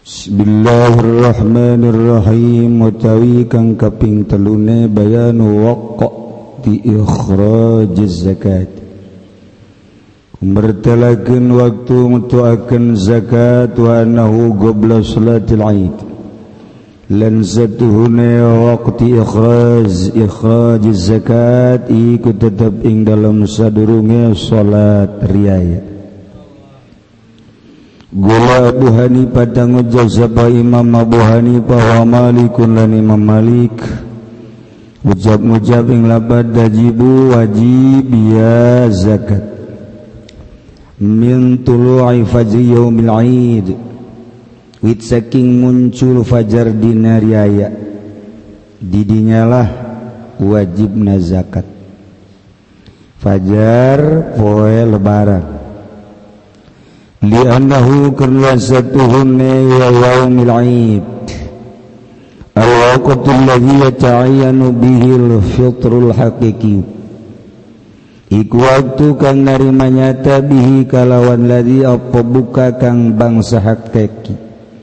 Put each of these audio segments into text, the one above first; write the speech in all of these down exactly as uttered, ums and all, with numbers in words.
Bismillahirrahmanirrahim. Utawi kang kaping telune bayanu waqti ikhrajiz zakat, mertelakeun waktu mutuakeun zakat wa annahu qabla salatil aid, lan satuhune waqti ikhraj ikhrajiz zakat iku tetep ing dalam sadurunge salat riyaya. Gula Abu Hanifah tangujab sapa Imam Abu Hanifah wa Malikun lan Imam Malik ucap-ucap ing lapat dajibu wajib ya zakat min tulu'i fajri yaumil aid, wit saking muncul fajar dina riyaya didinyalah wajibna zakat. Fajar poe lebaran li'annahu karna satuhunne ya yaumil aid al-waqtul ladhi yata'ayyanu bihil fitrul haqiqi, iku waktu kang narima nyata bihi kalawan ladhi apa buka kang bangsa hakiki.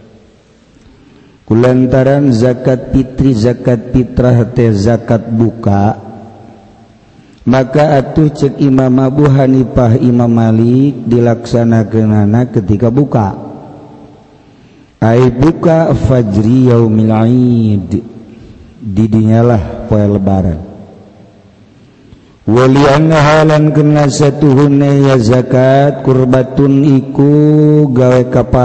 Kulantaran zakat fitri zakat fitrah teh zakat buka, maka atuh cek Imam Abu Hanifah Imam Malik dilaksanakeunana ketika buka. Ai buka fajri yaumil aid, didinyalah poe lebaran. Walianna halan kena satuhunna ya zakat kurbatun iku gawe kapar.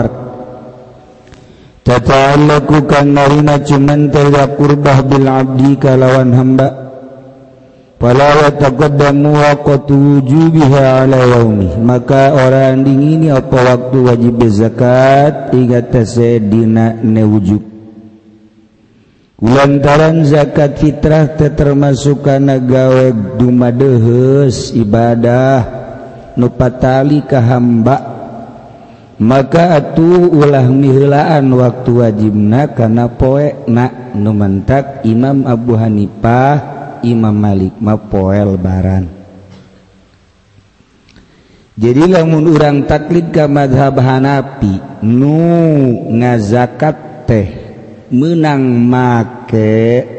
Tata'allaku kan narina cuman tera kurbah bil abdi kalawan hamba. Fala yataqaddamu waqtu wujubiha ala yaumi, maka orang dingini apa waktu wajib zakat ingatase dina ne wujub. Kulantaran zakat fitrah teh termasuk kana gawe dumadeheus ibadah nu patali ka hamba, maka atuh ulah miheulaan waktu wajibna kana poe na nu mentak Imam Abu Hanifah Imam Malik mah poe lebaran. Jadi lamun urang taklid ka mazhab Hanafi nu ngazakat teh meunang make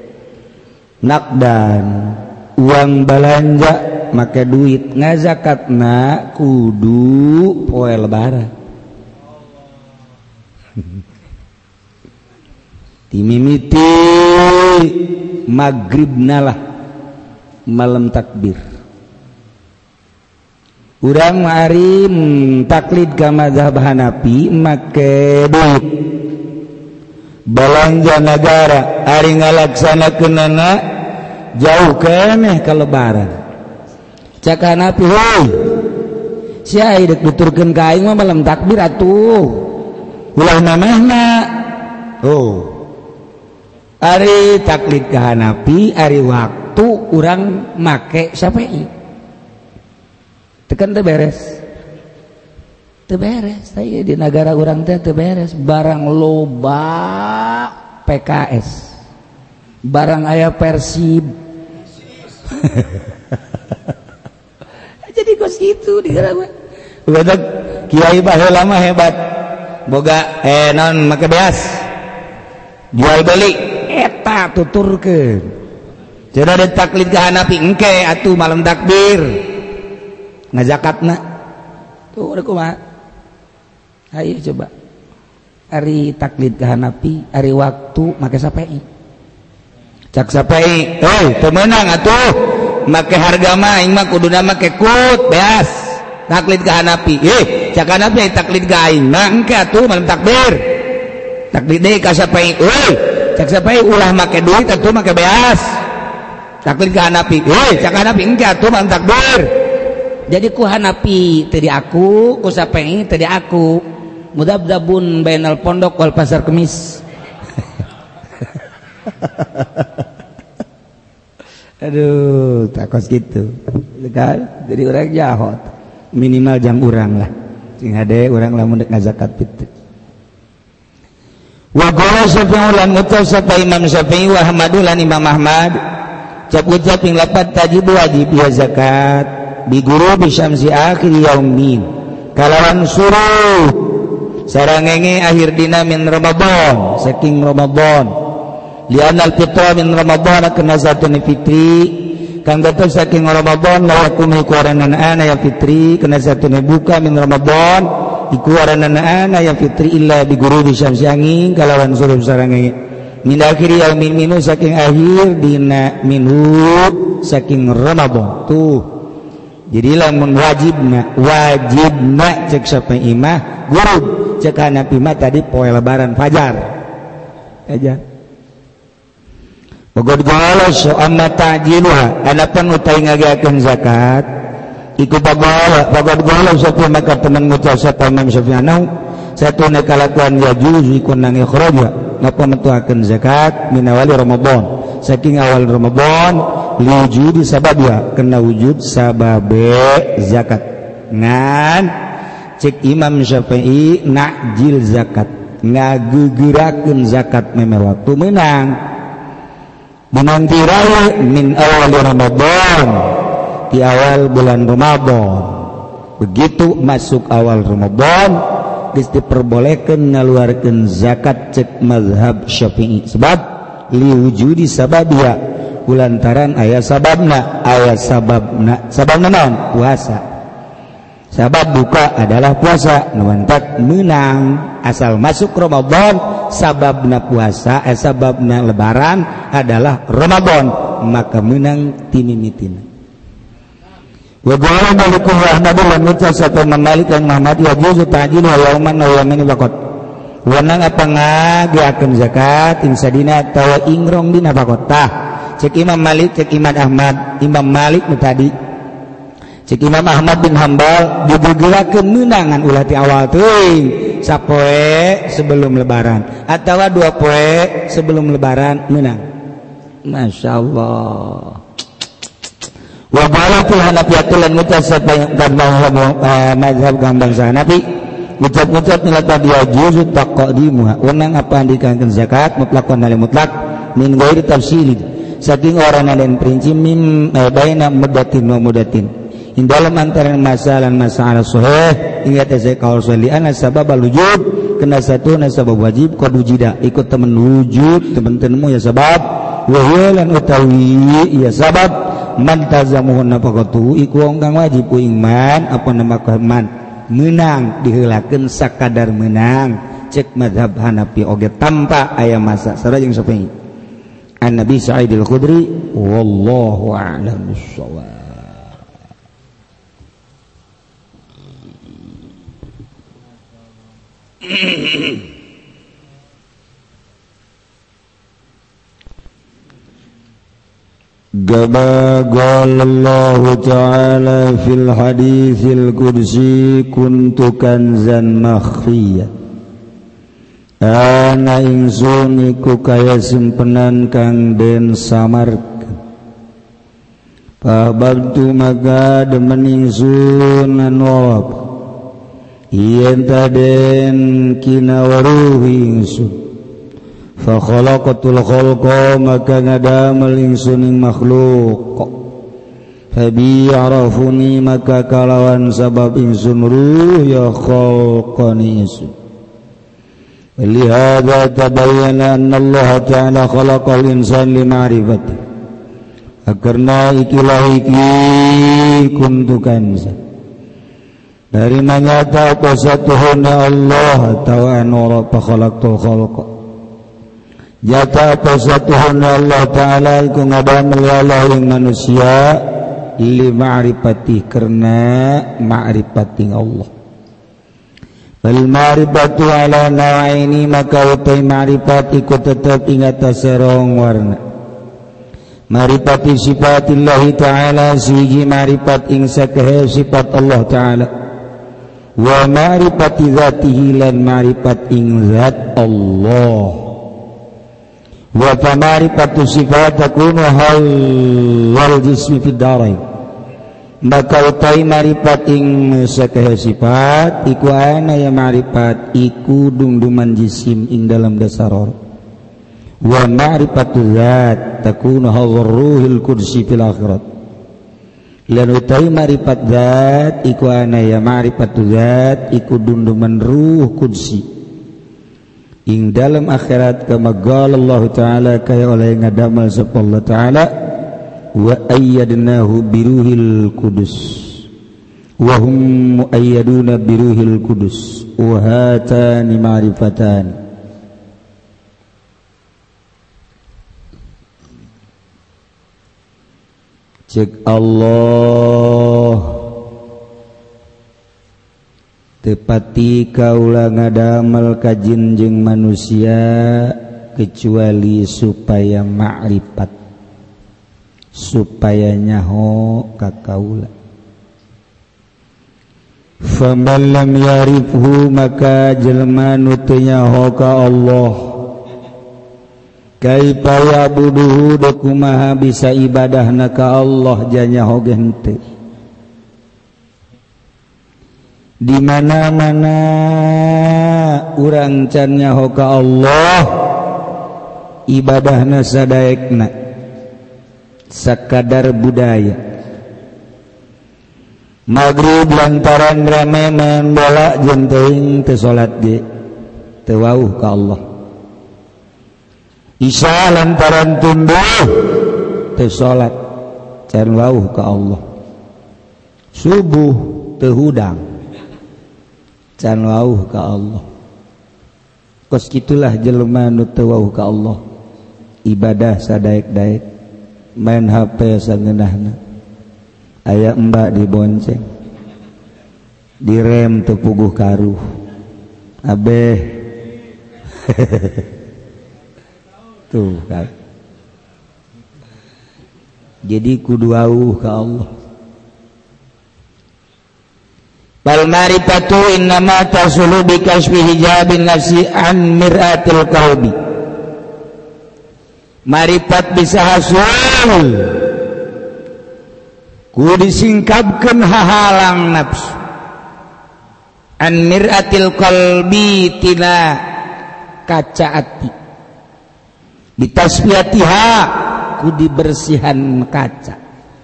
nakdan uang belanja make duit, ngazakatna kudu poe lebaran. Timimiti maghribna lah malam takbir. Urang mari taklid ka mazhab Hanafi make duit belanja negara ari ngalaksanakeunana jauh keneh ka lebaran. Cak Hanafi heuh sia deuk duturkeun ka aing mah malam takbir atuh ulah namehna. Oh ari taklid ka Hanafi ari waktu urang make Syafi'i tekan teu beres teu beres teh di negara urang teh teu beres, barang loba P K S barang aya Persib jadi kos gitu di negara mah udah kiai baheula mah hebat boga eh non make beas jual beli eta tuturkeun. Cenah ada taklid ka Hanafi engke atuh malam takbir ngazakatna tuh udah kumaha. Ayo coba ari taklid ka Hanafi ari waktu make Syafi'i cak Syafi'i heuh teu meunang atuh make harga mah aing mah kuduna make kut beas taklid ka Hanafi. Eh cak Hanafi taklid ka aing mah engke atuh malam takbir taklid deui ka Syafi'i euy cak Syafi'i ulah make duit atuh make beas taklid ka Hanafi. Heuh cak Hanafi engke atuh malam takbir. Jadi ku Hanafi teu di aku, ku Syafi'i teu di aku. Mudabdabun bainal pondok wal pasar kemis. Aduh, takos gitu. Kan jadi urang jahot. Minimal jam urang lah. Sing hade urang lamun deuk ngazakat fitri. Wa qala Syafi'i lan mutal sapa Imam Syafi'i wa Ahmad lan Imam Ahmad cap ucap ing lapat tajib wajib ya zakat bi ghurubi syamsi akhir yaumin kalawan suruh sarangenge akhir dina min Ramadan saking Ramadan li'anal fitra min Ramadan kana satuna fitri kang dados saking Ramadan la yakum iku aranan ana ya fitri kana satuna buka min Ramadan iku aranan ana ya fitri illa bi ghurubi syamsi angin kalawan suruh sarangenge min akhir yaumin minu saking akhir dina minhu saking Ramadan tuh. Jadi lamun wajibna wajibna cek siapa imah guru cek hanafi mah tadi poe lebaran fajar aja pokok galau so amma ta'jiluha adapun utai ngagiakeun zakat iku pagala pokok galau satu maka teman ngucap satu Imam Syafi'i satu nakalakuan yajuz iku nang ikhraja ngapa metuakeun zakat min awali Ramadan saking awal Ramadan liwujudi sababnya kena wujud sababe zakat ngan cek Imam Syafi'i nakjil zakat ngagegerakeun zakat meme waktu menang menanti raya min awal Ramadan di awal bulan Ramadan begitu masuk awal Ramadan geus diperbolehkeun ngaluarkeun zakat cek mazhab Syafi'i sebab liwujudi sababnya kulantaran ayat sababna ayat sababna sababna naon puasa sabab buka adalah puasa nuantak menang asal masuk Ramadan sababna puasa eh sababna lebaran adalah Ramadan maka menang timimitina wa qala malikum rahmatullahi wa barakatuh satu Malik yang Muhammad ya juzu ta'jil wa yauman wa yaumin waqt wanang apa ngagiakeun zakat insadina tawa ingrong dina bakota cek Imam Malik cek Imam Ahmad Imam Malik nu tadi cek Imam Ahmad bin Hambal dibugerakeun meunangan ulah ti awal teuing sapoe sebelum lebaran atawa dua poe sebelum lebaran meunang masyaallah wa baratul hanafiyatul lan mutasab mazhab gambang Hanafi ucap-ucap nilata dia juzu taqdimuha wenang apa andikakeun zakat mutlaqan al mutlaq min ghairi tafsilin saking orang dan perinci mim eh, baina mudatin wa mudatin in dalam antara masalah masalah sahih ingat saya kaul sahih ana sabab wujud kena satu na sabab wajib qad wujida ikut temen wujud temen-temenmu ya sabab wa huwa lan utawi ya sabab man tazamuhu nafaqatu iku wong kang wajib ku iman apa nama man menang diheulakeun sakadar menang cek mazhab Hanafi oge tanpa aya masa sareng Syafi'i an Nabi Sa'id al-Khudri wallahu a'lam bissawab. Gaba qala Allah ta'ala fil haditsil qudsi kuntu kanzan makhfiyah ana ingsun iku kaya simpenan kang den samarkeun pabantu maka demen ingsun anop yen taden kinawaruh ingsun fa khalaqatul khalqa maka ngadamel ingsun ing makhluk fa bi arafuni maka kalawan sabab ingsun ruh ya khalqani ingsun lihada tabayyana anna Allah ta'ala khalaqal insan li ma'rifati akarna ikilah iki kuntu kanza dari manyata qasatuhuna Allah ta'ala wa khalaqtul khalqa jata qasatuhuna Allah ta'ala iku ngadamel Allah ing manusia li ma'rifati karena ma'rifati Allah bal ma'rifatu ala nawaini maka utai ma'rifat ikut tetap ingat serong warna ma'rifati sifatillahi ta'ala siji ma'rifat ing sakehe sifat Allah ta'ala wa ma'rifati zatihi lan ma'rifat ing zat Allah wa fa ma'rifatu sifat takunu hal wal jismi fid darain maka utai marifat ing sakehe sifat iku ana ya marifat iku dungduman jisim ing dalam dasar wa ma'rifatu zat takunu hawruhil kursi fil akhirat lan utawi ma'rifat zat iku ana ya ma'rifatu zat iku dunduman ruh kudsi ing dalam akhirat kama qala Allah taala kaya oleh ngadamel sapa Allah taala wa ayyadnahu biruhil qudus wa hum muayyaduna biruhil qudus wa hatani ma'rifatan. Cek Allah tepati kaula ngadamel ka jin jeung manusia kecuali supaya ma'rifat, supaya nyaho ka kaula. Faman lam yarifhu maka jelma nu teu nyaho ka Allah kaifa yabuduhu da kumaha bisa ibadahna ka Allah janya hoge henteu. Di mana-mana urang can nyaho ka Allah ibadahna sadaekna sakadar budaya. Maghrib lantaran rame main bola jeung teuing teu salat ge teu wauh ka Allah. Isya lantaran tumbuh teu salat can wauh ka Allah. Subuh teu hudang can wauh ka Allah. Kos kitulah jelema nu teu wauh ka Allah. Ibadah sadaek-daek, main H P sangeunahna. Aya mbak dibonceng. Direm teu puguh karuh. Abeh tuh kan. Jadi kudu wauh ka Allah. Bal ma'rifatu innama tasulu bi kasfi hijabin nafsi an mir'atil qalbi. Ma'rifat bisa hasul ku disingkapkeun hahalang nafsu an mir'atil qalbi tina kaca ati. Bitasfiyatiha ku dibersihan kaca.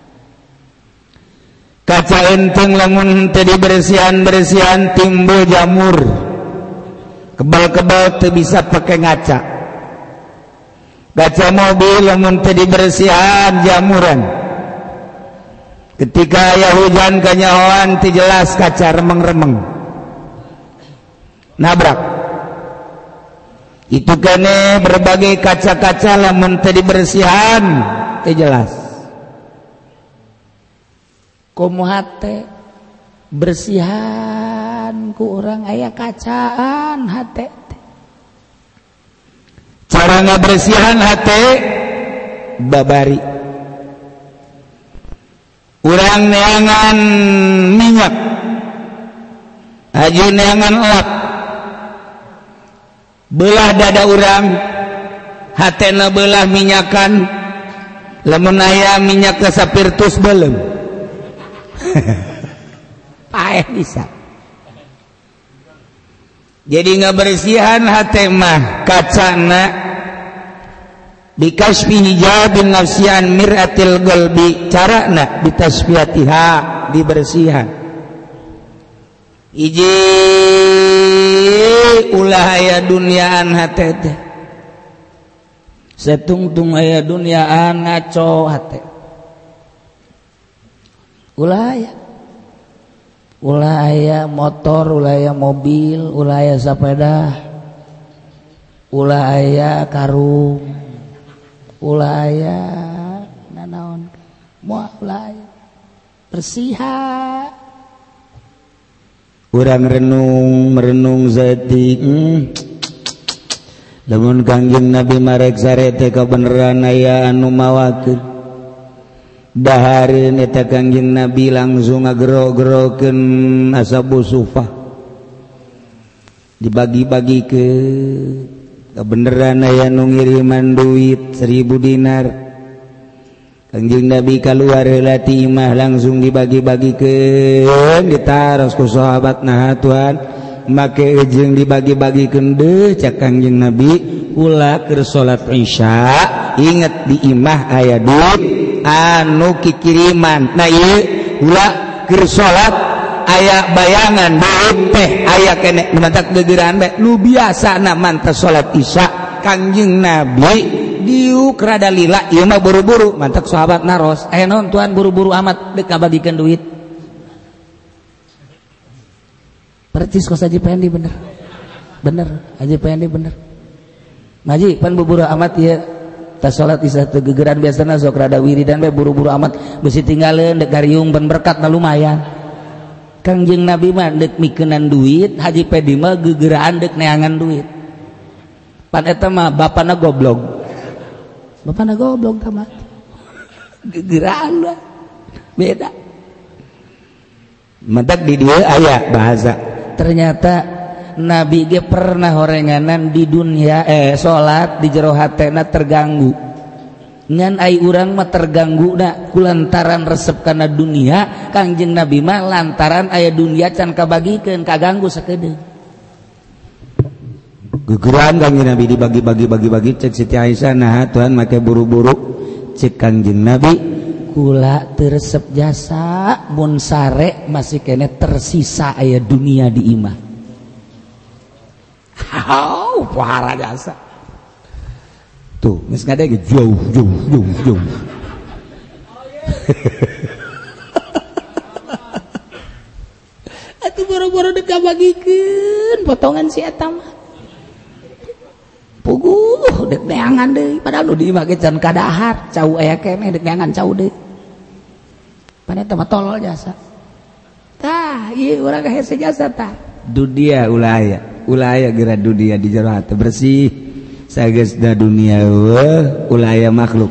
Kaca enteng lamun teu dibersihan-bersihan timbul jamur. Kebal-kebal teu bisa pake ngaca. Kaca mobil lamun teu dibersihan jamuran. Ketika aya hujan kanyahoan teu jelas kaca remeng-remeng. Nabrak. Itu kene berbagai kaca-kaca lamun teu dibersihan teu jelas. Kumaha teh bersihan ku urang aya kacaan hate. Cara ngabersihan hate babari. Urang neangan minyak. Haji neangan elak. Belah dada urang hatena belah minyakan lamun aya minyak ke sapirtus beuleum paeh bisa. Jadi ngabersihan hate mah kacana dikasfi hijabin nafsian mir'atil qalbi carana bitasfiyatiha dibersihan. Iji ulah aya dunyaan hate teh setungtung aya dunyaan ngaco hate ulah aya ulah aya motor ulah aya mobil ulah aya sapeda ulah aya karung ulah aya nanaon moal ulah aya bersihan. Urang renung merenung zati hmm. Lamun Kangjeng Nabi marek sarete kabeneran aya anu mawakeun dahareun eta Kangjeng Nabi langsung ngagero-gerokeun ashabu sufah dibagi-bagikeun kabeneran aya nu ngiriman duit seribu dinar. Kangjeng Nabi kaluar heula ti imah langsung dibagi-bagikeun ditaros ku sahabatna hatuan make jeung dibagi-bagikeun deui cak Kangjeng Nabi ulah keur salat Isya inget di imah aya duit anu kikiriman nah ieu ulah keur salat aya bayangan duit teh aya keneh mantak gegeran bae nu biasana mantas salat isya Kangjeng Nabi diuk rada lila ieu mah buru-buru mantak sahabat naros aya naon tuan buru-buru amat deuk ngabagikeun duit percis kos Haji Pendi bener bener Haji Pendi bener ngaji pan buru-buru amat ieu tas salat isya teu gegeran biasana sok rada wiridan bae buru-buru amat beusi tinggaleun dek gariung ban berkat na lumayan Kangjeng Nabi mah dek mikeunnan duit Haji Pendi mah gegeraan dek neangan duit pan eta mah bapana goblok bapana goblok tamat gegeraan lah beda mentak di dieu aya bahasa ternyata Nabi ge pernah horenganan di dunia eh salat di jero hatena terganggu ngan ai urang mah terganggu na kulantaran resep kana dunia Kangjeng Nabi mah lantaran aya dunia can kabagikeun kaganggu sakedeung gegeran Kangjeng Nabi dibagi-bagi bagi-bagi cek Siti Aisyah nah Tuhan make buru-buru cek Kangjeng Nabi kula teu resep jasa mun sare masih kene tersisa aya dunia di imah oh pahara jasa tuh geus ngadege jauh jauh jauh jauh atuh boro-boro deuk kabagikeun potongan si eta mah puguh deuk neangan deui padahal nu di imah ge can kadahar cau aya keneh deuk neangan cau deui pan eta mah tolol jasa tah ieu urang kahese jasa tah dunia ulah aya ulah aya geura dunia di jero hate bersih sageusna dunia weuh ulah aya makhluk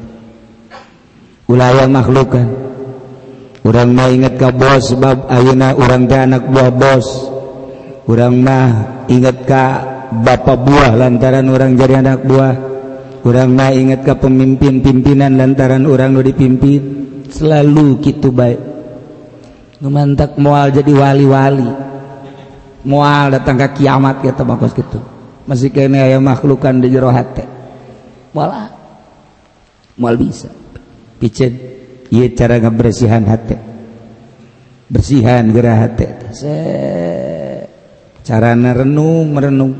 ulah aya makhluk kan urang mah inget ka bos sebab ayeuna urang teh anak buah bos urang mah inget ka bapa buah lantaran urang jadi anak buah urang mah inget ka pemimpin-pimpinan lantaran urang nu dipimpin selalu kitu bae nu mantak moal jadi wali-wali moal datang ke kiamat kita bakos gitu masih kene aya makhlukan di jero hate moal moal bisa piceun ieu cara ngabersihan hate bersihan geura hate se carana renung merenung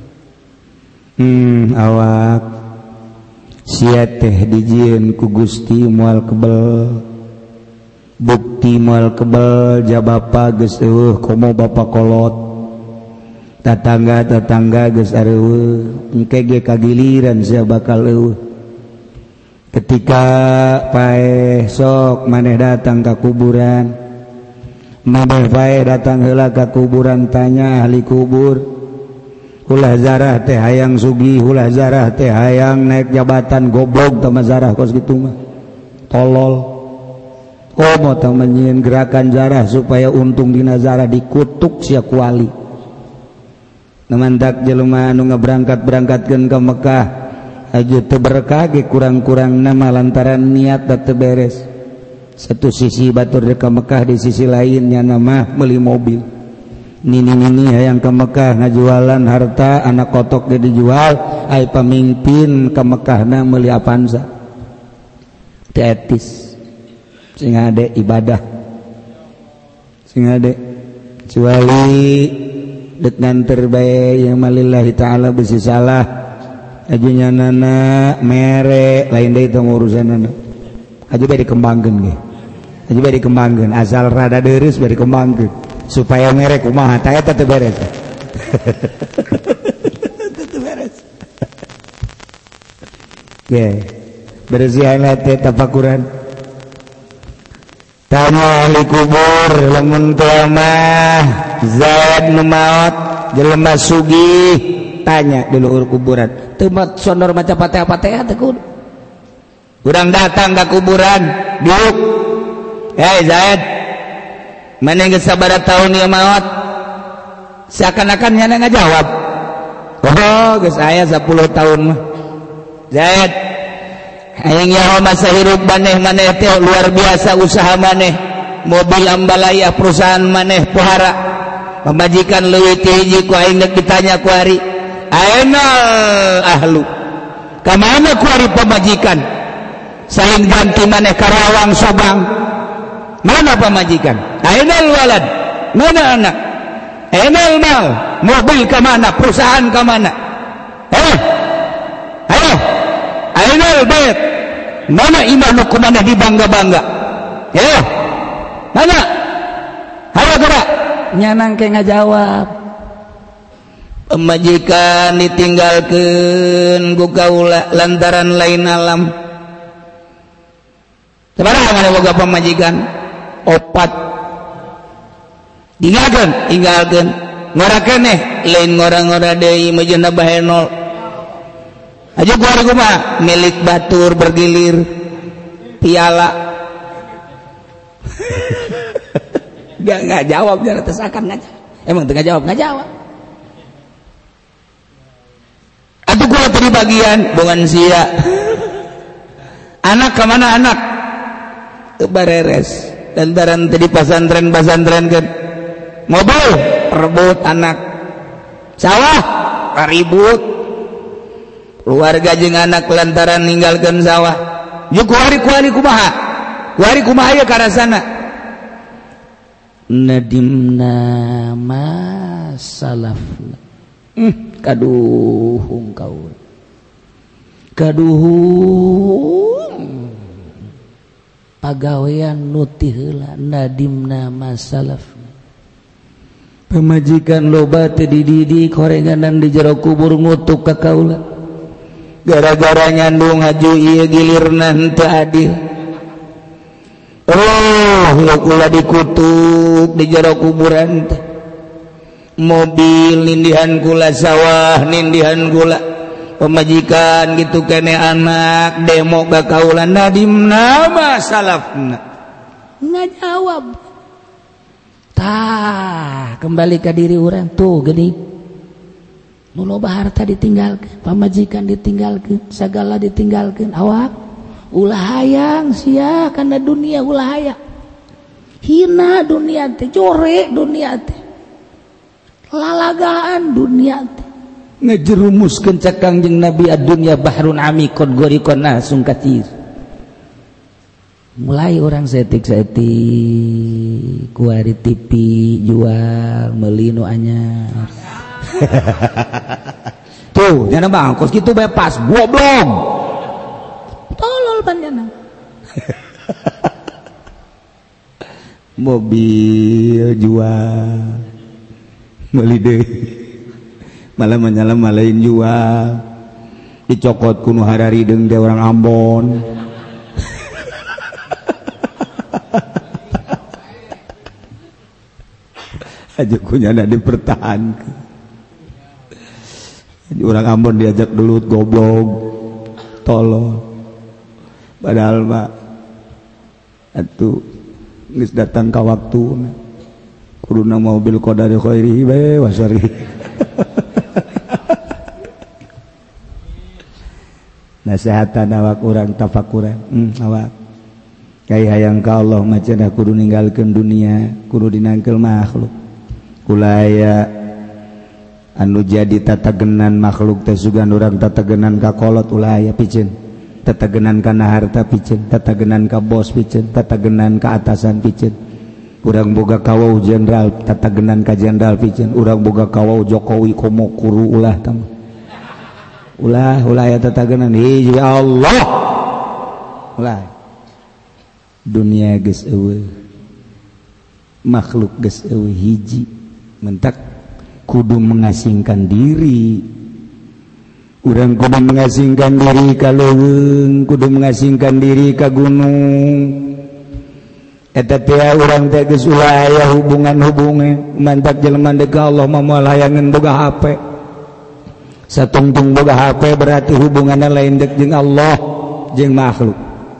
hmm awak sia teh dijieun ku Gusti moal kebel bukti moal kebel jabapa geus eueuh komo bapa kolot tatangga-tatangga geus areueuh engke ge kagiliran sia bakal eueuh ketika paeh sok maneh datang ka kuburan maneh paeh datang heula ka kuburan tanya ahli kubur ulah zarah teh hayang sugih ulah zarah teh hayang naik jabatan goblok tah zarah kos kitu mah tolol komo tah menyieun gerakan zarah supaya untung dina zarah dikutuk sia kuali namandak jelema anu ngaberangkat-berangkatkeun ka Mekah aja teu berkah ge kurang-kurang nama lantaran niat teu beres satu sisi batur ka Mekah di sisi lainnya nama meuli mobil nini-nini hayang ka Mekah ngajualan harta anak kotok ge dijual ai pamimpin ka Mekahna meuli Avanza teu etis sing ade ibadah sing ade kecuali dek nanter bae yang malillahi ta'ala besi salah ajunya nana mere lain deui tong urusanana aju bae dikembangkeun ge aju bae dikembangkeun asal rada deureus bae dikembangkeun supaya mere kumaha tah eta teu beres teu beres ge bersihan hate tafakuran tanya ahli kubur lamun teu mah zat nu maot jelema sugih tanya di luhur kuburan teu mah sondor maca Fatihah-Fatihah teh kudu urang datang ka kuburan diuk hei Zaid maneh geus sabaraha taun ieu maot seakan-akan nya ngajawab oh geus aya sepuluh tahun mah Zaid hayang nyaho masa hirup maneh maneh teh luar biasa usaha maneh mobil ambalaya perusahaan maneh pohara pemajikan leuwih ti hiji ku aing deuk ditanya ku ari ayeuna ahlu ka mana ku ari pemajikan saling ganti maneh Karawang Subang. Mana pamajikan? Ainal walad, mana anak? Ainal mal, mobil ke mana? Perusahaan ke mana? Eh, ayo, ainal bait, mana iman nu kumana dibangga-bangga? Ya, mana? Ayo gerak, nyanang ke ngajawab. Pemajikan ditinggalkeun ku kaula lantaran lain alam. Sabaraha mana boga pamajikan? Opat. Tinggalkeun, tinggalkeun. Ngora keneh lain ngora-ngora deui mejeuna bahenol. Aja kuari kumaha? Milik batur bergilir piala. Enggak enggak jawab jangan tesakan ngajawab. Emang teu ngajawab, ngajawab. Atuh kula tadi bagian bongan sia. Anak ke mana anak? Ke bareres. Lantaran tadi pasantren-pasantren kan. Mobil rebut anak. Sawah ribut. Keluarga jeung anak lantaran ninggalkeun sawah. Yu kuari-kuari kumaha? Kuari kumaha ya karasana? Nadimna ma salafna. Hmm, kaduhung kau kaduhung pagawean nuti heula nadimna masalaf pamajikan loba teu dididik horenganan di jero kubur ngutuk ka kaula gara-gara nyandung haju ieu gilirna henteu adil. Oh ya kula dikutuk di jero kuburan teh. Mobil nindihan kula, sawah nindihan kula, pemajikan gitu kene anak demo ka kaula nadimna ma salafna. Ngajawab. Tah kembali ke diri urang tuh geuning. Nu loba harta ditinggalkeun, pamajikan ditinggalkeun, sagala ditinggalkeun, awak ulah hayang sia kana dunia ulah hayang. Hina dunia teh, jore dunia teh. Lalagaan dunia teh ngejerumuskeun cak Kangjeng Nabi ad-dunya bahrun amikun gorikon nasung katir. Mulai orang setik-setik kuari T V jual meuli nu anyar. Tuh jangan bangkos kitu bae pas goblok. Tolol panjana. Mobil jual meuli deui malah menyala malain jual dicokot kuno hararideng teh orang Ambon. Aja kunyana dipertahankeun orang Ambon diajak dulu goblok tolol padahal mah atuh geus datang ka waktuna kuduna mobil qadari khairi bae wasari. Nasihatan awak urang tafakuran. Hmm, awak. Kai hayang ka Allah macana kudu ninggalkeun dunia, kudu dinangkel makhluk. Kulaya anu jadi tatagenan makhluk teh sugan urang tatagenan ka kolot ulah aya piceun. Tatagenan kana harta piceun, tatagenan ka bos piceun, tatagenan ka atasan piceun. Urang boga kawau jenderal tatagenan ka jenderal piceun, urang boga kawau Jokowi komo kuru ulah tam. Ulah ulah aya tatagenan hiji Allah. Ulah. Dunia geus eueuh. Makhluk geus eueuh hiji. Mentak kudu mengasingkan diri. Urang kudu mengasingkan diri ka leuweung, kudu mengasingkan diri ka gunung. Eta teh urang teh geus ulah aya hubungan-hubungan mantak jelema deuk ka Allah mah moal hayangeun boga H P. Satungtung boga H P berarti hubunganna lain deuk jeung Allah jeung makhluk.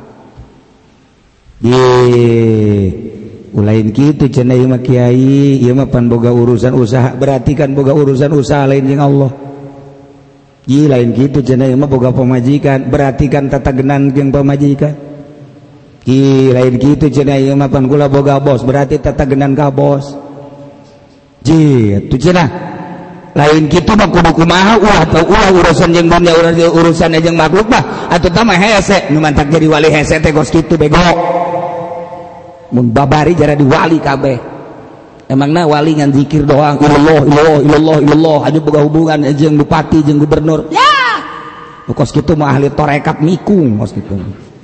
Ye, ulain kitu cenah ieu mah kiai, ieu mah pan boga urusan usaha, berarti kan boga urusan usaha lain jeung Allah. Ye lain kitu cenah ieu mah boga pamajikan, berarti kan tatagenan jeung pamajikan. Ki lain kitu cenah ieu mah pan kula boga bos berarti tatagenan ka bos. Ji atuh cenah lain kitu mah kudu kumaha ulah teu ulah urusan jeung dunia urusan jeung makhluk mah atuh tah mah hese nu mantak jadi wali hese teh gos kitu bego mun babari jara di wali kabeh emangna wali ngan zikir doang ilallah ilallah ilallah ilallah aja boga hubungan jeung bupati jeung gubernur ya kos kitu mah ahli torekat mikung kos kitu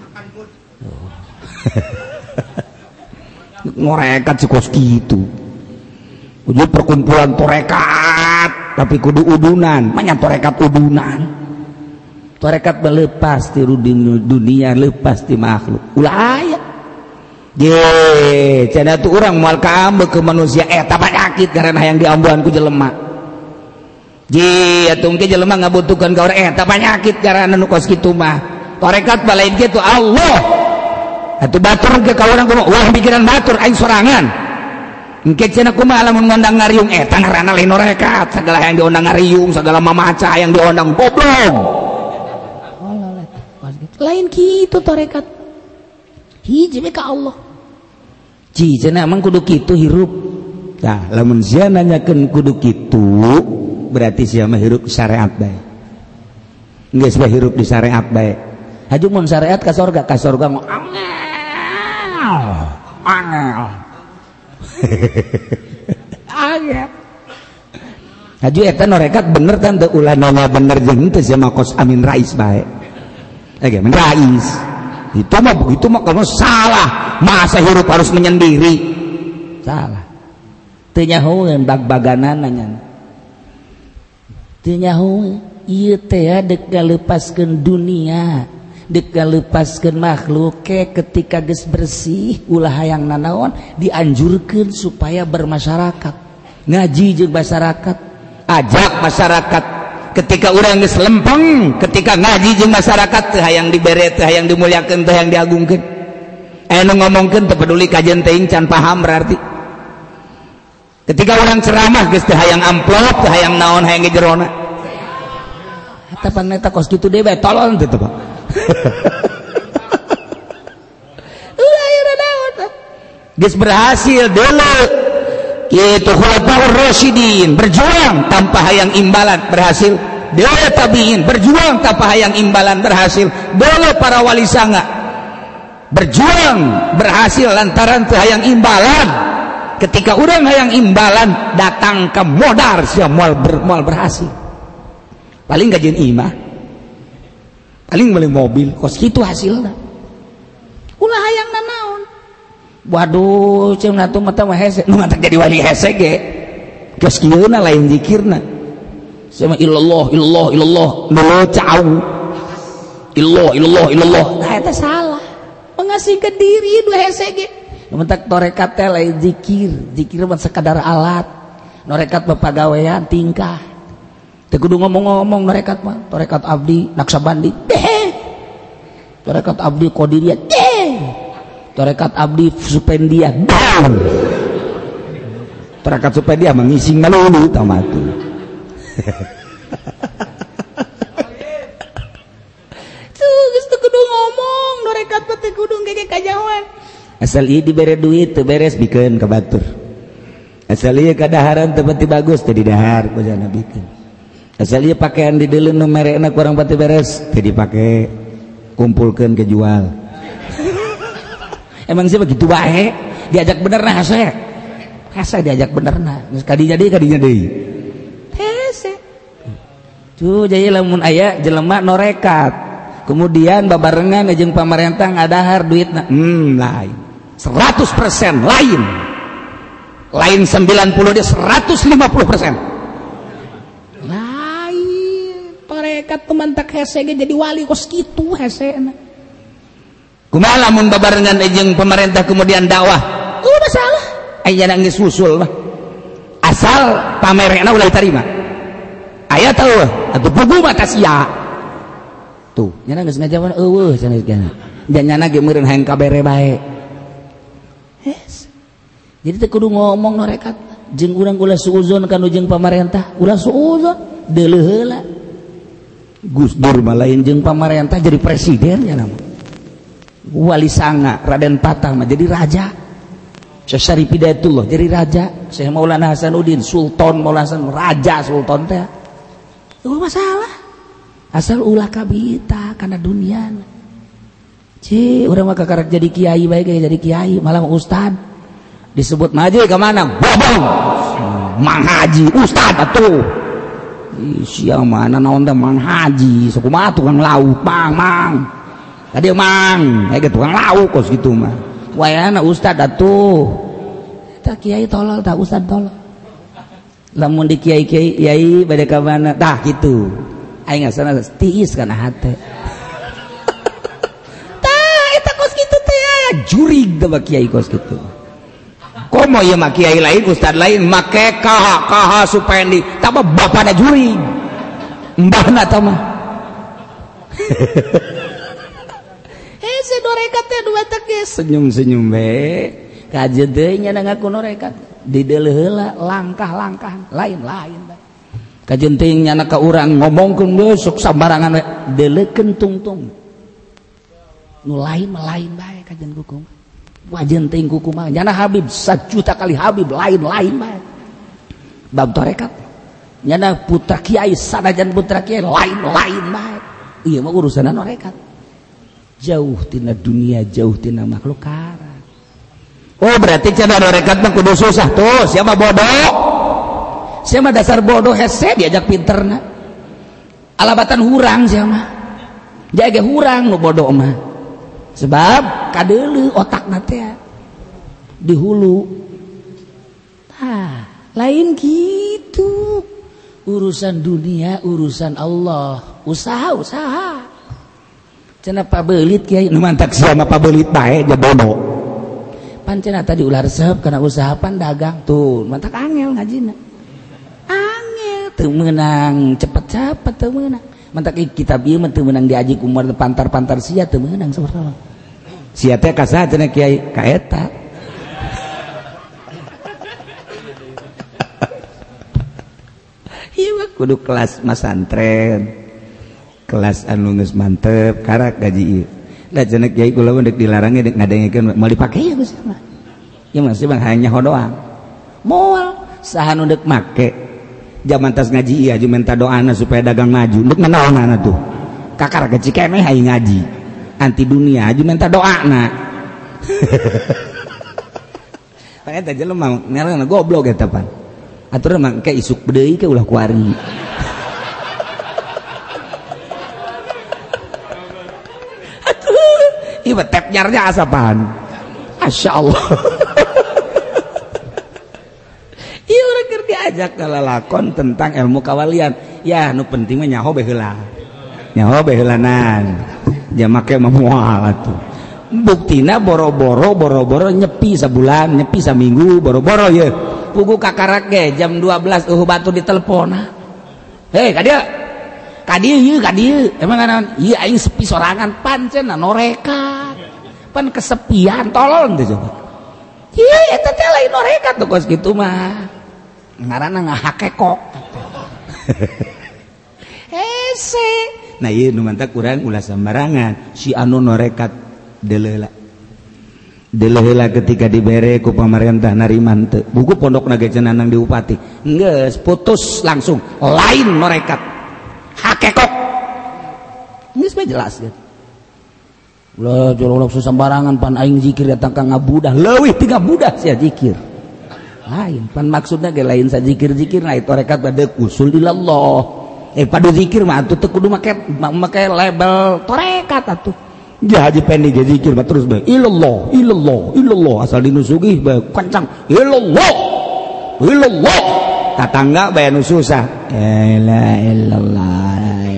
ngorekat si kos kitu ujung perkumpulan torekat tapi kudu udunan manya torekat udunan torekat melepas ti dunia lepas ti makhluk ulah aya ye cenah tu urang moal kaambeuk ke manusia eta penyakit karena hayang diambuhan ku jelema ye atuh ge jelema ngabutuhkeun ka urang eta penyakit karena nu kos kitu mah torekat balain kitu Allah atuh batur ge ka urang kumaha ulah pikiran batur aing sorangan engke cenah kumaha lamun ngondang ngariung eta ngaranna lain torekat segala yang diundang ngariung segala mamaca yang diundang goblok lain kitu torekat hiji we ka Allah ci cenah emang kudu kitu hirup tah lamun sia nanyakeun kudu kitu berarti sia mah hirup syariat bae geus bae hirup di syariat bae haju mun syariat ka surga ka surga mah angel angel agak haju eta norekat bener kan teu ulah nanya bener jeung teu sia mah kos amin rais bae ege men rais itu mah begitu mah kalau salah masa hirup harus menyendiri salah teu nyahoeun bag-baganana nya teu nyahoeun ieu teh dek ngalepaskeun dunia dek ngalepaskeun makhluk ke ketika geus bersih ulah hayang nanaon dianjurkeun supaya bermasyarakat ngaji jeung masyarakat ajak masyarakat ketika urang geus lempeng ketika ngaji jeung masyarakat teu hayang dibere teu hayang dimuliakeun teu hayang diagungkeun anu ngomongkeun teu peduli kajen teuing can paham berarti ketika urang ceramah geus teu hayang amplop teu hayang naon hayang jerona eta paneta kos kitu deui bae tolol teu Pak ulah ieu naon geus berhasil deuleu kitu khulafaur rasyidin berjuang tanpa hayang imbalan berhasil deuleu tabiin berjuang tanpa hayang imbalan berhasil deuleu para wali sanga berjuang berhasil lantaran teu hayang imbalan ketika urang hayang imbalan datang ke modar sia moal ber, moal berhasil paling gajian imah paling beli mobil kos kitu hasilna ulah hayang nanaon waduh ceung atuh mah teh hese nu ngatak jadi wali hese ge geus kieu na lain zikirna sama illallah illallah illallah nu cau illallah illallah illallah nah eta salah mengasihkeun diri dua hese ge mentak torekat teh lain zikir zikir mah sekadar alat norekat bapagawean tingkah teu kudu ngomong-ngomong norekat mah torekat abdi naksabandi deh torekat abdi qadiriyah deh torekat abdi supendiah down torekat supendiah mengising malulu tamatu tuh geus teu kudu ngomong norekat mah teu kudu ngege kajawan asal ieu dibere duit teu beres bikeun ka batur asal ieu kadaharan teu pati bagus teu didahar ku jana bikeun asal ieu pakaian di deuleu nu merekna kurang pati beres teu dipake kumpulkeun ke jual emang sih begitu bae diajak benerna hese hese diajak benerna geus kadinya deui kadinya deui hese tuh jadi lamun aya jelema norekat kemudian babarengan jeung pamarentah ngadahar duitna hmm lain seratus persen lain lain sembilan puluh dia seratus lima puluh persen torekat temantak hese ge jadi wali kos kitu hesena kumaha lamun babarengan jeung pemerintah kemudian dakwah udah masalah aya nangis usul mah asal pamerena ulah diterima aya teu atuh pugu mah sia tuh nyana geus ngajawan eueuh cenah kana dan nyana ge meureun hayang kabere bae yes jadi teu kudu ngomong norekat jeung urang ulah suuzon kanu jeung pamarentah ulah suuzon deuleu heula Gus Dur mah lain jeung pamarentah jadi presiden ya nama wali sanga Raden Patah mah jadi raja Syekh Syarif Hidayatullah jadi raja, Syekh Maulana Hasanuddin Sultan Maulana Hasan raja sultan teh itu masalah asal ulah kabita karena dunia ci urang mah kakarek jadi kiai bae jadi kiai malah ustad disebut maji ke mana bobong mang haji ustad atuh siang mana naon teh mang haji sakumaha tukang lauk mang mang tadi mang aya tukang lauk kos kitu mah wayana ustad atuh tak kiai tolol tak ustad tolol lamun di kiai kiai kiai bade ka mana tah kitu aing ngasana tiis kana hate tah eta kos kitu teh aya jurig teh kiai kos kitu komo ieu mah kiai lain ustad lain make kaha kaha supendi tah bapana jurig mbahna tah mah hese dorekat teh dua teh senyum-senyum be kajeun deui nya ngaku norekat dideuleuh heula langkah-langkah lain-lain kajeun teuing nya ka urang ngomongkeun we sok sambarangan we deuleukeun tungtung nu lain mah lain bae kajeun kuku wajeun teuing kuku mah nya Habib sajuta kali Habib lain-lain bae bab torekat nya putra kiai sanajan putra kiai lain-lain bae ieu mah urusanna norekat jauh tina dunia jauh tina makhluk kara. Oh berarti cara norekat mah kudu susah tuh siapa bodoh siapa dasar bodoh hese diajak pinterna alabatan hurang siapa jaga hurang nu bodoh mah sebab kadeuleu otakna teh di hulu ah lain gitu urusan dunia urusan Allah usaha usaha cenah pabelit kiai nu mantak sia mah pabelit bae ja bodoh pan cenah tadi ulah resep kana usaha pan dagang tuh mantak angel ngajina angel teu meunang cepet-cepet teu meunang mantak kitab ieu mah teu meunang diaji ku umur pantar-pantar sia teu meunang sabarapa sia teh ka saha cenah kiai ka eta ieu mah kudu kelas masantren kelas anu geus mantep karak gaji ieu da cenah kiai kula mah deuk dilarang deuk ngadengkeun mau dipake ya Gus mah ieu mah sih bang hanya doang moal saha nu deuk make jaman tas ngaji ieu aju minta doana supaya dagang maju deuk nanaonana tuh kakar gaji keneh hayang ngaji anti dunia aju minta doana pan eta jelema ngaranna goblok eta pan aturan mah ke isuk deui ke ulah kuari ieu tep nyarnya asapan Masya Allah ieu urang keur diajak kalalakon tentang ilmu kawalian ya nu penting mah nyaho bae heula nyaho bae heulanan ja make mah moal atuh buktina boro-boro boro-boro nyepi sabulan nyepi saminggu boro-boro ye pugu kakarak ge jam dua belas eueuh batu diteleponna hei ka dieu ka dieu ieu ka dieu emang naon ieu aing sepi sorangan pancen norekat pan kesepian tolol teh coba ieu eta teh lain norekat tuh kos kitu mah ngaranna ngahakekok hese nah ieu nu mantak urang ulah sambarangan si anu norekat deuleuh deuleuh ketika dibere ku pamarentah nariman teu buku pondokna ge cenah di upati geus putus langsung lain norekat hakekok geus mah jelas kan ulah jorok susambarangan pan aing zikir datang ka ngabudah leuwih ti ngabudah sia zikir lain pan maksudna ge lain sa zikir-zikir na itu rekat bade usul ilallah eh padu zikir mah atuh teu kudu make make label torekat atuh ja haji pendi ge zikir mah terus bae ilallah ilallah ilallah asal dinusugih bae kencang ilallah ilallah tatangga bae nu susah la ilaha illallah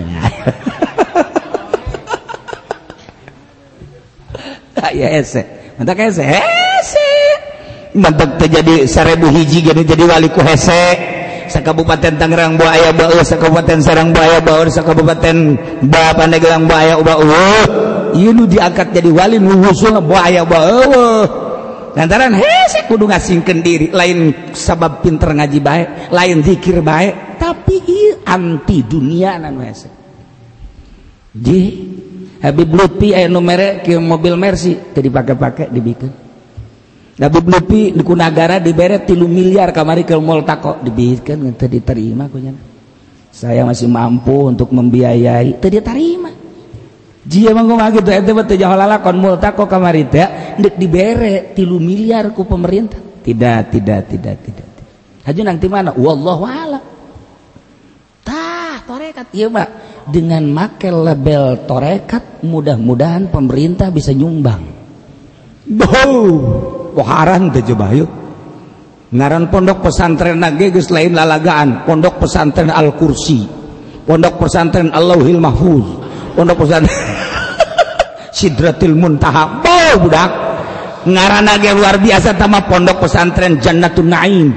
ya ese mantak hese hese mantak terjadi seribu hiji gini jadi wali ku hese sakabupaten Tangerang Buaya Bau sakabupaten Sarang Buaya Bau sakabupaten Ba Pandeglang Buaya Bau ieu nu diangkat jadi wali nu husul Buaya Bau lantaran hese kudu ngasingkeun diri lain sabab pinter ngaji bae lain zikir bae tapi ieu anti dunia anu hese di Habib Lutfi aya nu mere ke mobil Mercy teu dipake-pake dibikeun Nabi Blupi di negara diberet tilu miliar kamari ke Multaqo dibihitkan teu diterima kunya. Saya masih mampu untuk membiayai teu diterima. Jia mah kumaha kitu eta teh jahalala kon Multaqo kamari teh deuk dibere tilu miliar ku pemerintah. Tidak, tidak, tidak, tidak. Haju nang ti mana? Wallahu a'lam. Tah, torekat ieu mah dengan make label torekat mudah-mudahan pemerintah bisa nyumbang. Boh, poharan teh coba yuk. Ngaran pondok pesantren ge geus lain lalagaan, pondok pesantren Al-Kursi, pondok pesantren Allahul Mahfuz, pondok pesantren Sidratil Muntaha. Boh budak. Ngaranna ge luar biasa tama pondok pesantren Jannatun Naim.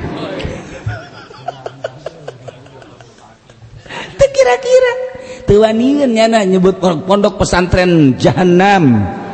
Teu kira-kira teu wanian nyana nyebut pondok pesantren Jahannam.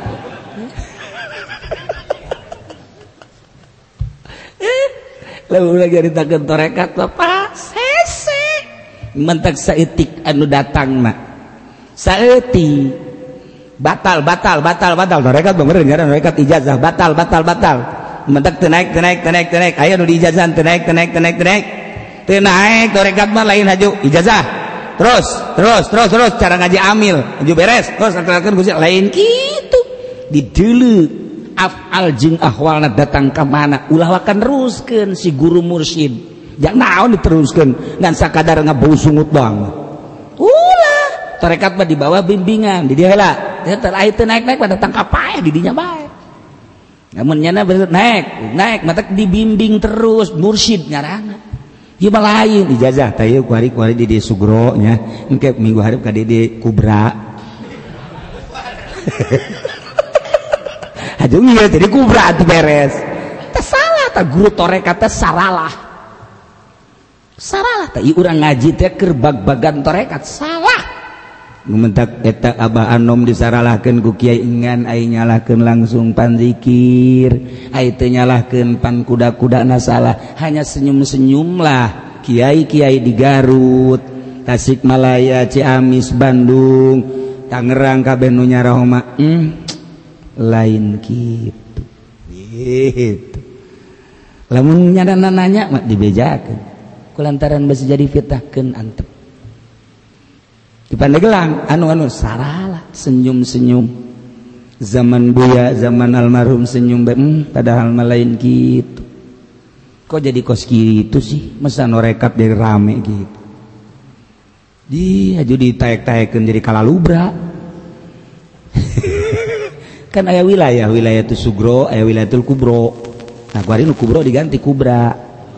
Lalu lagi ditakeun torekat Bapak sese mentek saeutik anu datangna saeuti batal batal batal batal torekat bener ngaran torekat ijazah batal batal batal mentek teu naik teu naik teu naik teu naik aya nu di ijazah teu naik teu naik teu naik teu naik teu naik torekat mah lain haju ijazah terus terus terus terus cara ngaji amil haju beres terus akan Gusti lain kitu dideuleu afal jeung ahwalna datang ka mana ulah wakan teruskeun si guru mursyid jang naon diteruskeun ngan sakadar ngabau sungut doang ulah tarekat mah di bawah bimbingan di dieu heula teu teu naik-naik pada tangkap paeh di dinya bae namun nyana naik naik mata dibimbing terus mursyid ngaranna ieu mah lain ijazah tah ieu kuari-kuari di di Sugro nya engke minggu hareup ka di Kubra aduh iya jadi kubra itu beres tak salah tak guru torekat teh saralah saralah tak urang ngaji teh keur bag-bagan torekat salah ngumentak eta Abah Anom disaralahkeun ku Kiai Engan ai nyalahkeun langsung pan zikir ai teu nyalahkeun pan kuda-kudana salah hanya senyum-senyum lah kiai-kiai di Garut Tasikmalaya Ciamis Bandung Tangerang kabeh nu nyarah mah hmm. lain gitu gitu lamun nyadana nanya mak dibejakeun kulantaran besi jadi fitnahkeun antep di Pandeglang anu-anu saralah senyum-senyum zaman buya zaman almarhum senyum hmm, padahal mah lain gitu kok jadi kos gitu sih masa norekat jadi rame gitu di aju ditaek-taekeun jadi kalalubra kan aya wilayah wilayah itu Sugro aya wilayah itu Kubro nah kuari nu Kubro diganti Kubra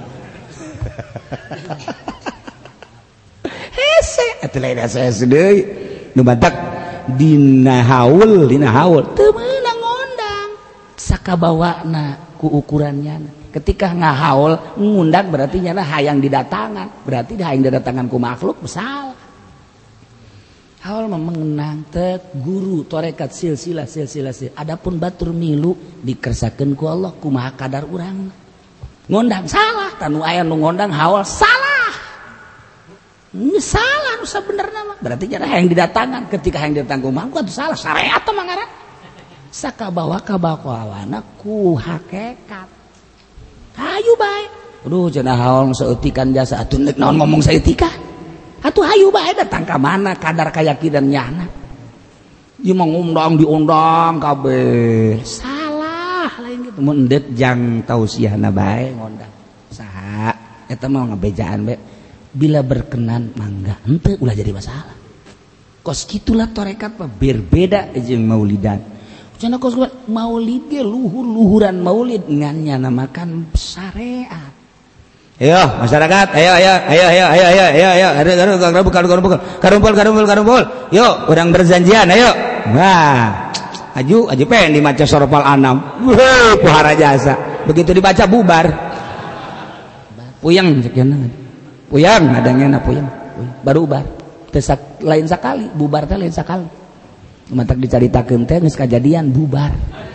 hese atuh lain hese deui nu batak dina haul dina haul teu meunang ngondang sakabawana ku ukurannya ketika ngahaul ngundang berarti nyana hayang didatangan berarti hayang didatangan ku makhluk salah haul mah mengenang teh guru torekat silsilah silsilah sil. Adapun batur milu dikersakeun ku Allah kumaha kadar urang ngondang salah tanu aya nu ngondang haul salah ini salah nu sabenerna mah berarti nya hayang didatangan ketika hayang didatangan ku makhluk atuh salah syariat mah ngaran sakabawa kabakawana ku hakikat hayu bae aduh cenah haul saeutikan jasa atuh neuk naon ngomong saeutika atuh hayu bae datang ka mana kadar keyakinan nyana ieu mah ngundang diundang kabeh salah lain gitu mun deuk jang tausiahna bae ngundang saha eta mah ngabejaan bae bila berkenan mangga henteu ulah jadi masalah kos kitulah torekat mah berbeda jeung maulidan cenah kos maulid ge luhur-luhuran maulid ngan nyana makan syariat. Ayo masyarakat, ayo ayo ayo ayo ayo ayo ayo ayo, ayo karumpul karumpul karumpul karumpul karumpul, yuk orang berjanjian, ayo, wah, aju aju pengen dibaca Sorofal Anam, wah puhara jasa, begitu dibaca bubar, puyang sekian, puyang adanya na puyang, baru bubar, tesak lain sekali, bubar teh lain sekali, matak dicaritakeun teh geus kajadian bubar.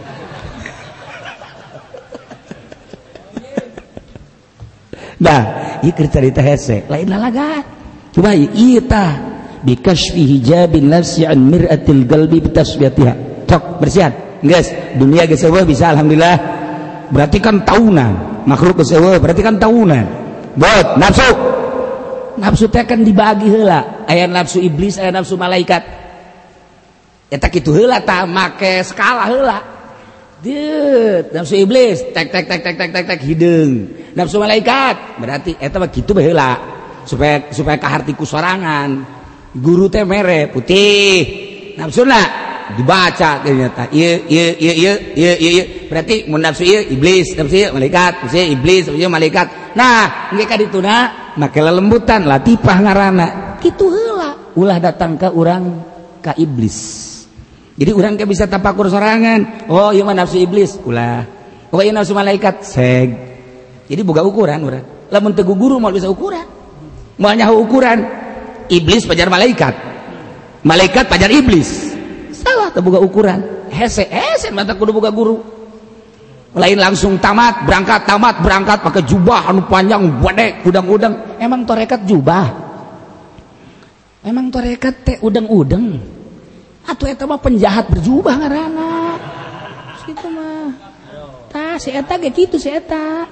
Nah, ieu keur carita hese, lain lalagan. Coba ieu tah bikasfi hijabin nafsi an mir'atil qalbi bitasbiyatiha. Cok bersihan. Geus, dunia geus eueuh bisa alhamdulillah. berarti kan tahunan makhluk geus eueuh berarti kan tahunan buat nafsu nafsu teh kan dibagi heula aya nafsu iblis aya nafsu malaikat eta kitu heula tah make skala heula deut nafsu iblis tek tek tek tek tek tek tek hideung nafsu malaikat berarti eta mah kitu bae heula supaya supaya kahartiku sorangan guru teh mere putih nafsuna dibaca ternyata ieu ieu ieu ieu ieu ieu berarti mun nafsu ieu iblis nafsu ieu malaikat nafsu ieu iblis nafsu ieu malaikat nah engke ka dituna make lelembutan latifah ngaranna kitu heula ulah datang ka urang ka iblis jadi urang ke bisa tapakur sorangan oh ieu mah nafsu iblis ulah oh ieu nafsu malaikat seg jadi boga ukuran urang lamun teu guru moal bisa ukuran moal nyaho ukuran iblis pajar malaikat malaikat pajar iblis salah teu boga ukuran hese hese mata kudu boga guru lain langsung tamat berangkat tamat berangkat pakai jubah anu panjang gede udang-udang emang torekat jubah emang torekat teh udang-udang atuh eta mah penjahat berjubah ngaranna kitu mah tah si eta ge kitu si eta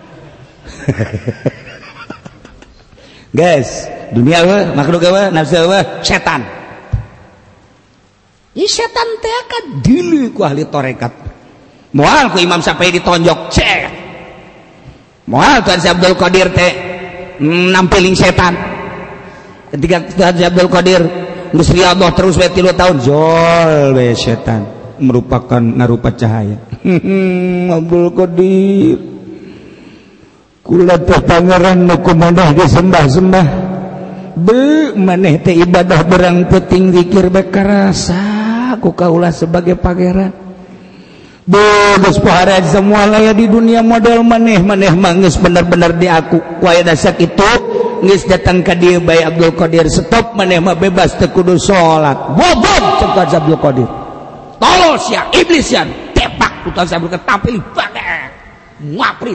guys dunia eueuh makhluk eueuh nafsu eueuh setan. Ini setan teh kan dili ku ahli torekat moal ku Imam Syafi'i ditonjok cek moal Tuan Syekh Abdul Qadir teh nampiling setan ketika Tuan Syekh Abdul Qadir geus riyadhah terus we tilu tahun jol we setan merupakan narupa cahaya Abdul Qadir kula teh pangeran nu kumaha disembah-sembah be maneh teh ibadah berang penting zikir bekarasa ku kaulah sebagai pangeran bodos pohara semua laya di dunia model maneh maneh mah geus bener-bener di aku ku aya dasak itu geus datang ka dieu bae Abdul Qadir stop maneh mah bebas teu kudu salat bobot cek Abdul Qadir tolos ya iblis ya tepak ku Abdul Qadir tampil banget ngaprit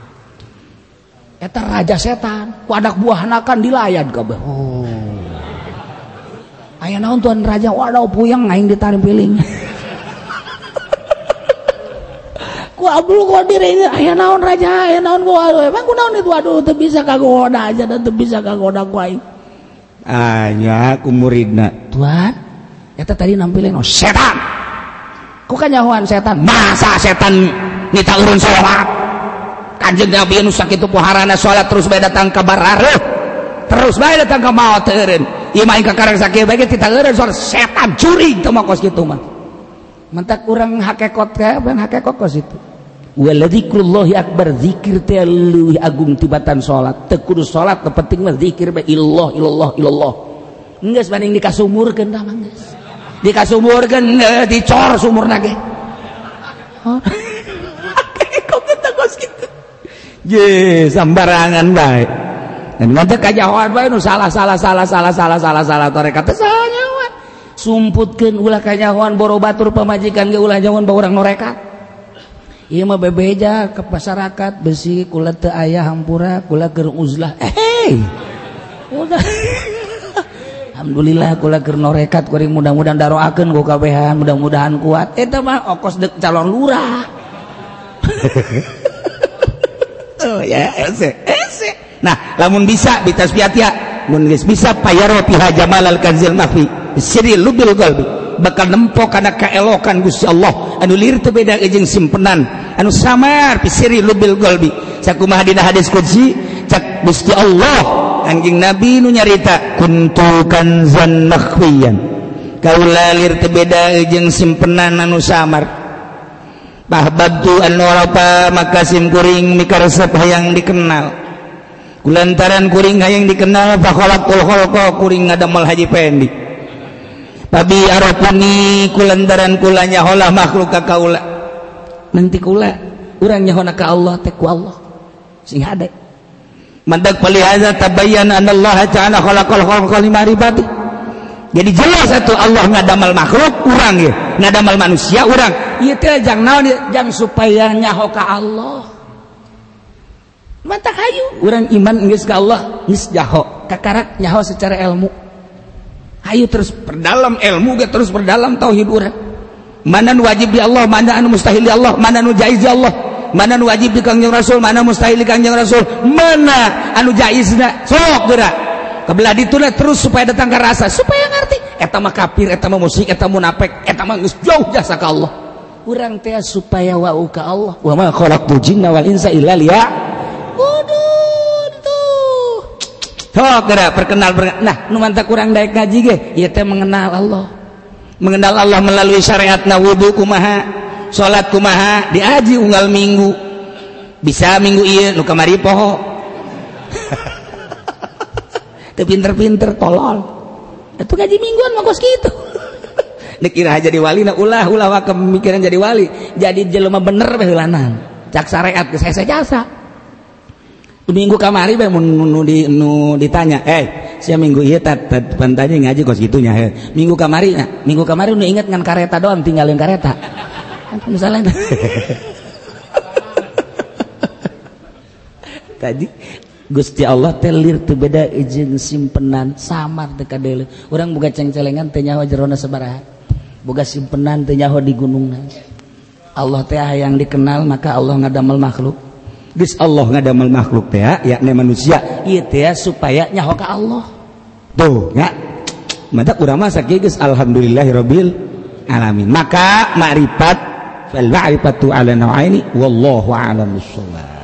eta raja setan ku anak buahna kan dilayan kabeh oh aya naon tuan raja waduh puyeng aing ditampiling ku Abdul Qadir ini aya naon raja aya naon ku emang ku naon itu aduh teu bisa kagoda aja dan teu bisa kagoda ku aing anya ku muridna tuan eta tadi nampilin oh setan ku kanyahoan setan masa setan nita urun salat kanjeng Nabi nu sakitu poharana salat terus bae datang ka barareuh terus bae datang ka maot teureun ieu mah ka karang sakieu bae kita eureun soal setan curi teu mah kos kitu mah mentak urang hakekot ka ban hakekot kos itu waladzikrullahi akbar zikir teh leuwih agung tibatan salat teu kudu salat teu penting mah zikir bae illallah illallah illallah geus banding dikasumurkeun tah mah geus dikasumurkeun dicor sumurna ge hakekot teh kos kitu ye sambarangan bae dan nanti kajahoan bae nu salah salah salah salah salah salah salah tarekat teh sanyawa sumputkeun ulah kajahoan boro batur pamajikan ge ulah jangan bae urang norekat ieu mah bebeja ke masyarakat besi kula teu aya hampura kula keur uzlah eh udah alhamdulillah kula keur norekat kuring mudah-mudahan daroakeun ku kabehan mudah-mudahan kuat eta mah okos dek calon lurah oh ya ese ese nah lamun bisa bitasbiatia mun geus bisa payaro piha jamal al kanzil mafi siri lubil qalbi bakal nempok kana kaelokan Gusti Allah anu lir teu beda jeung simpenan anu samar pisiri lubil qalbi sakumaha dina hadis qudsi cak Gusti Allah anjing Nabi nu nyarita kuntu kanzan makhfiyan kaula lir teu beda jeung simpenan anu samar bahbabtu an warafa makasim kuring mikaresep hayang dikenal kulantaran kuring hayang dikenal fakhalaqul khalqa kuring ngadamel haji pendi babi arafuni kulantaran kula nyahola makhluk ka kaula nanti kula urang nyahona ka Allah teh ku Allah sing hade mandak palihaza tabayyana anna Allah ta'ala khalaqal khalqa limaribati jadi jelas satu Allah ngadamal makhluk urang ya ngadamal manusia urang ieu teh jang naon jang supaya nyaho ka Allah mata hayu urang iman geus ka Allah geus nyaho kakarak nyaho secara ilmu hayu terus perdalam ilmu ge terus perdalam tauhid urang mana nu wajib di Allah mana anu mustahil di Allah mana nu jaiz di Allah mana nu wajib di Kangjeng Rasul, mana mustahil di Kangjeng Rasul, mana anu jaizna, sok geura. Kabelah dituna terus supaya datang ke rasa, supaya ngerti. Eta mah kafir, eta mah musyrik, eta munafik, eta mah geus jauh jasa ka Allah. Urang teh supaya wau ka Allah. Wa ma khalaqtul jinna wal insa illa liya'budun tuh. Sok geura perkenal, perkenal. Nah, nu mantap kurang daek ngaji ge, ieu teh mengenal Allah. Mengenal Allah melalui syariatna wudu kumaha, salat kumaha, diaji unggal minggu. Bisa minggu ieu nu kamari poho. Teu pinter-pinter tolol. Itu ngaji mingguan mah kos kitu. Dikira jadi wali na ulah ulah wa kemikiran jadi wali. Jadi jelema bener bae heulanan. Cak syariat geus hese jasa. Minggu kamari bae mun nu di nu ditanya, "Eh, sia minggu ieu tat pantanya ngaji kos kitu nya he." Minggu kamari nya, minggu kamari nu inget ngan kareta doang tinggalin kareta. Misalnya tadi Gusti Allah telir teu beda jeung simpenan samar teu kadele. Urang boga cengcelengan teu nyaho jerona sabaraha. Boga simpenan teu nyaho di gunungna. Allah teh hayang dikenal maka Allah ngadamel makhluk. Geus Allah ngadamel makhluk teh yakni manusia. Ieu teh supaya nyaho ka Allah. Tuh, nya. Mada urang mah sakieu geus alhamdulillahirabbil alamin. Maka ma'rifat fal ma'rifatu ala nau'aini wallahu a'lam bissawab.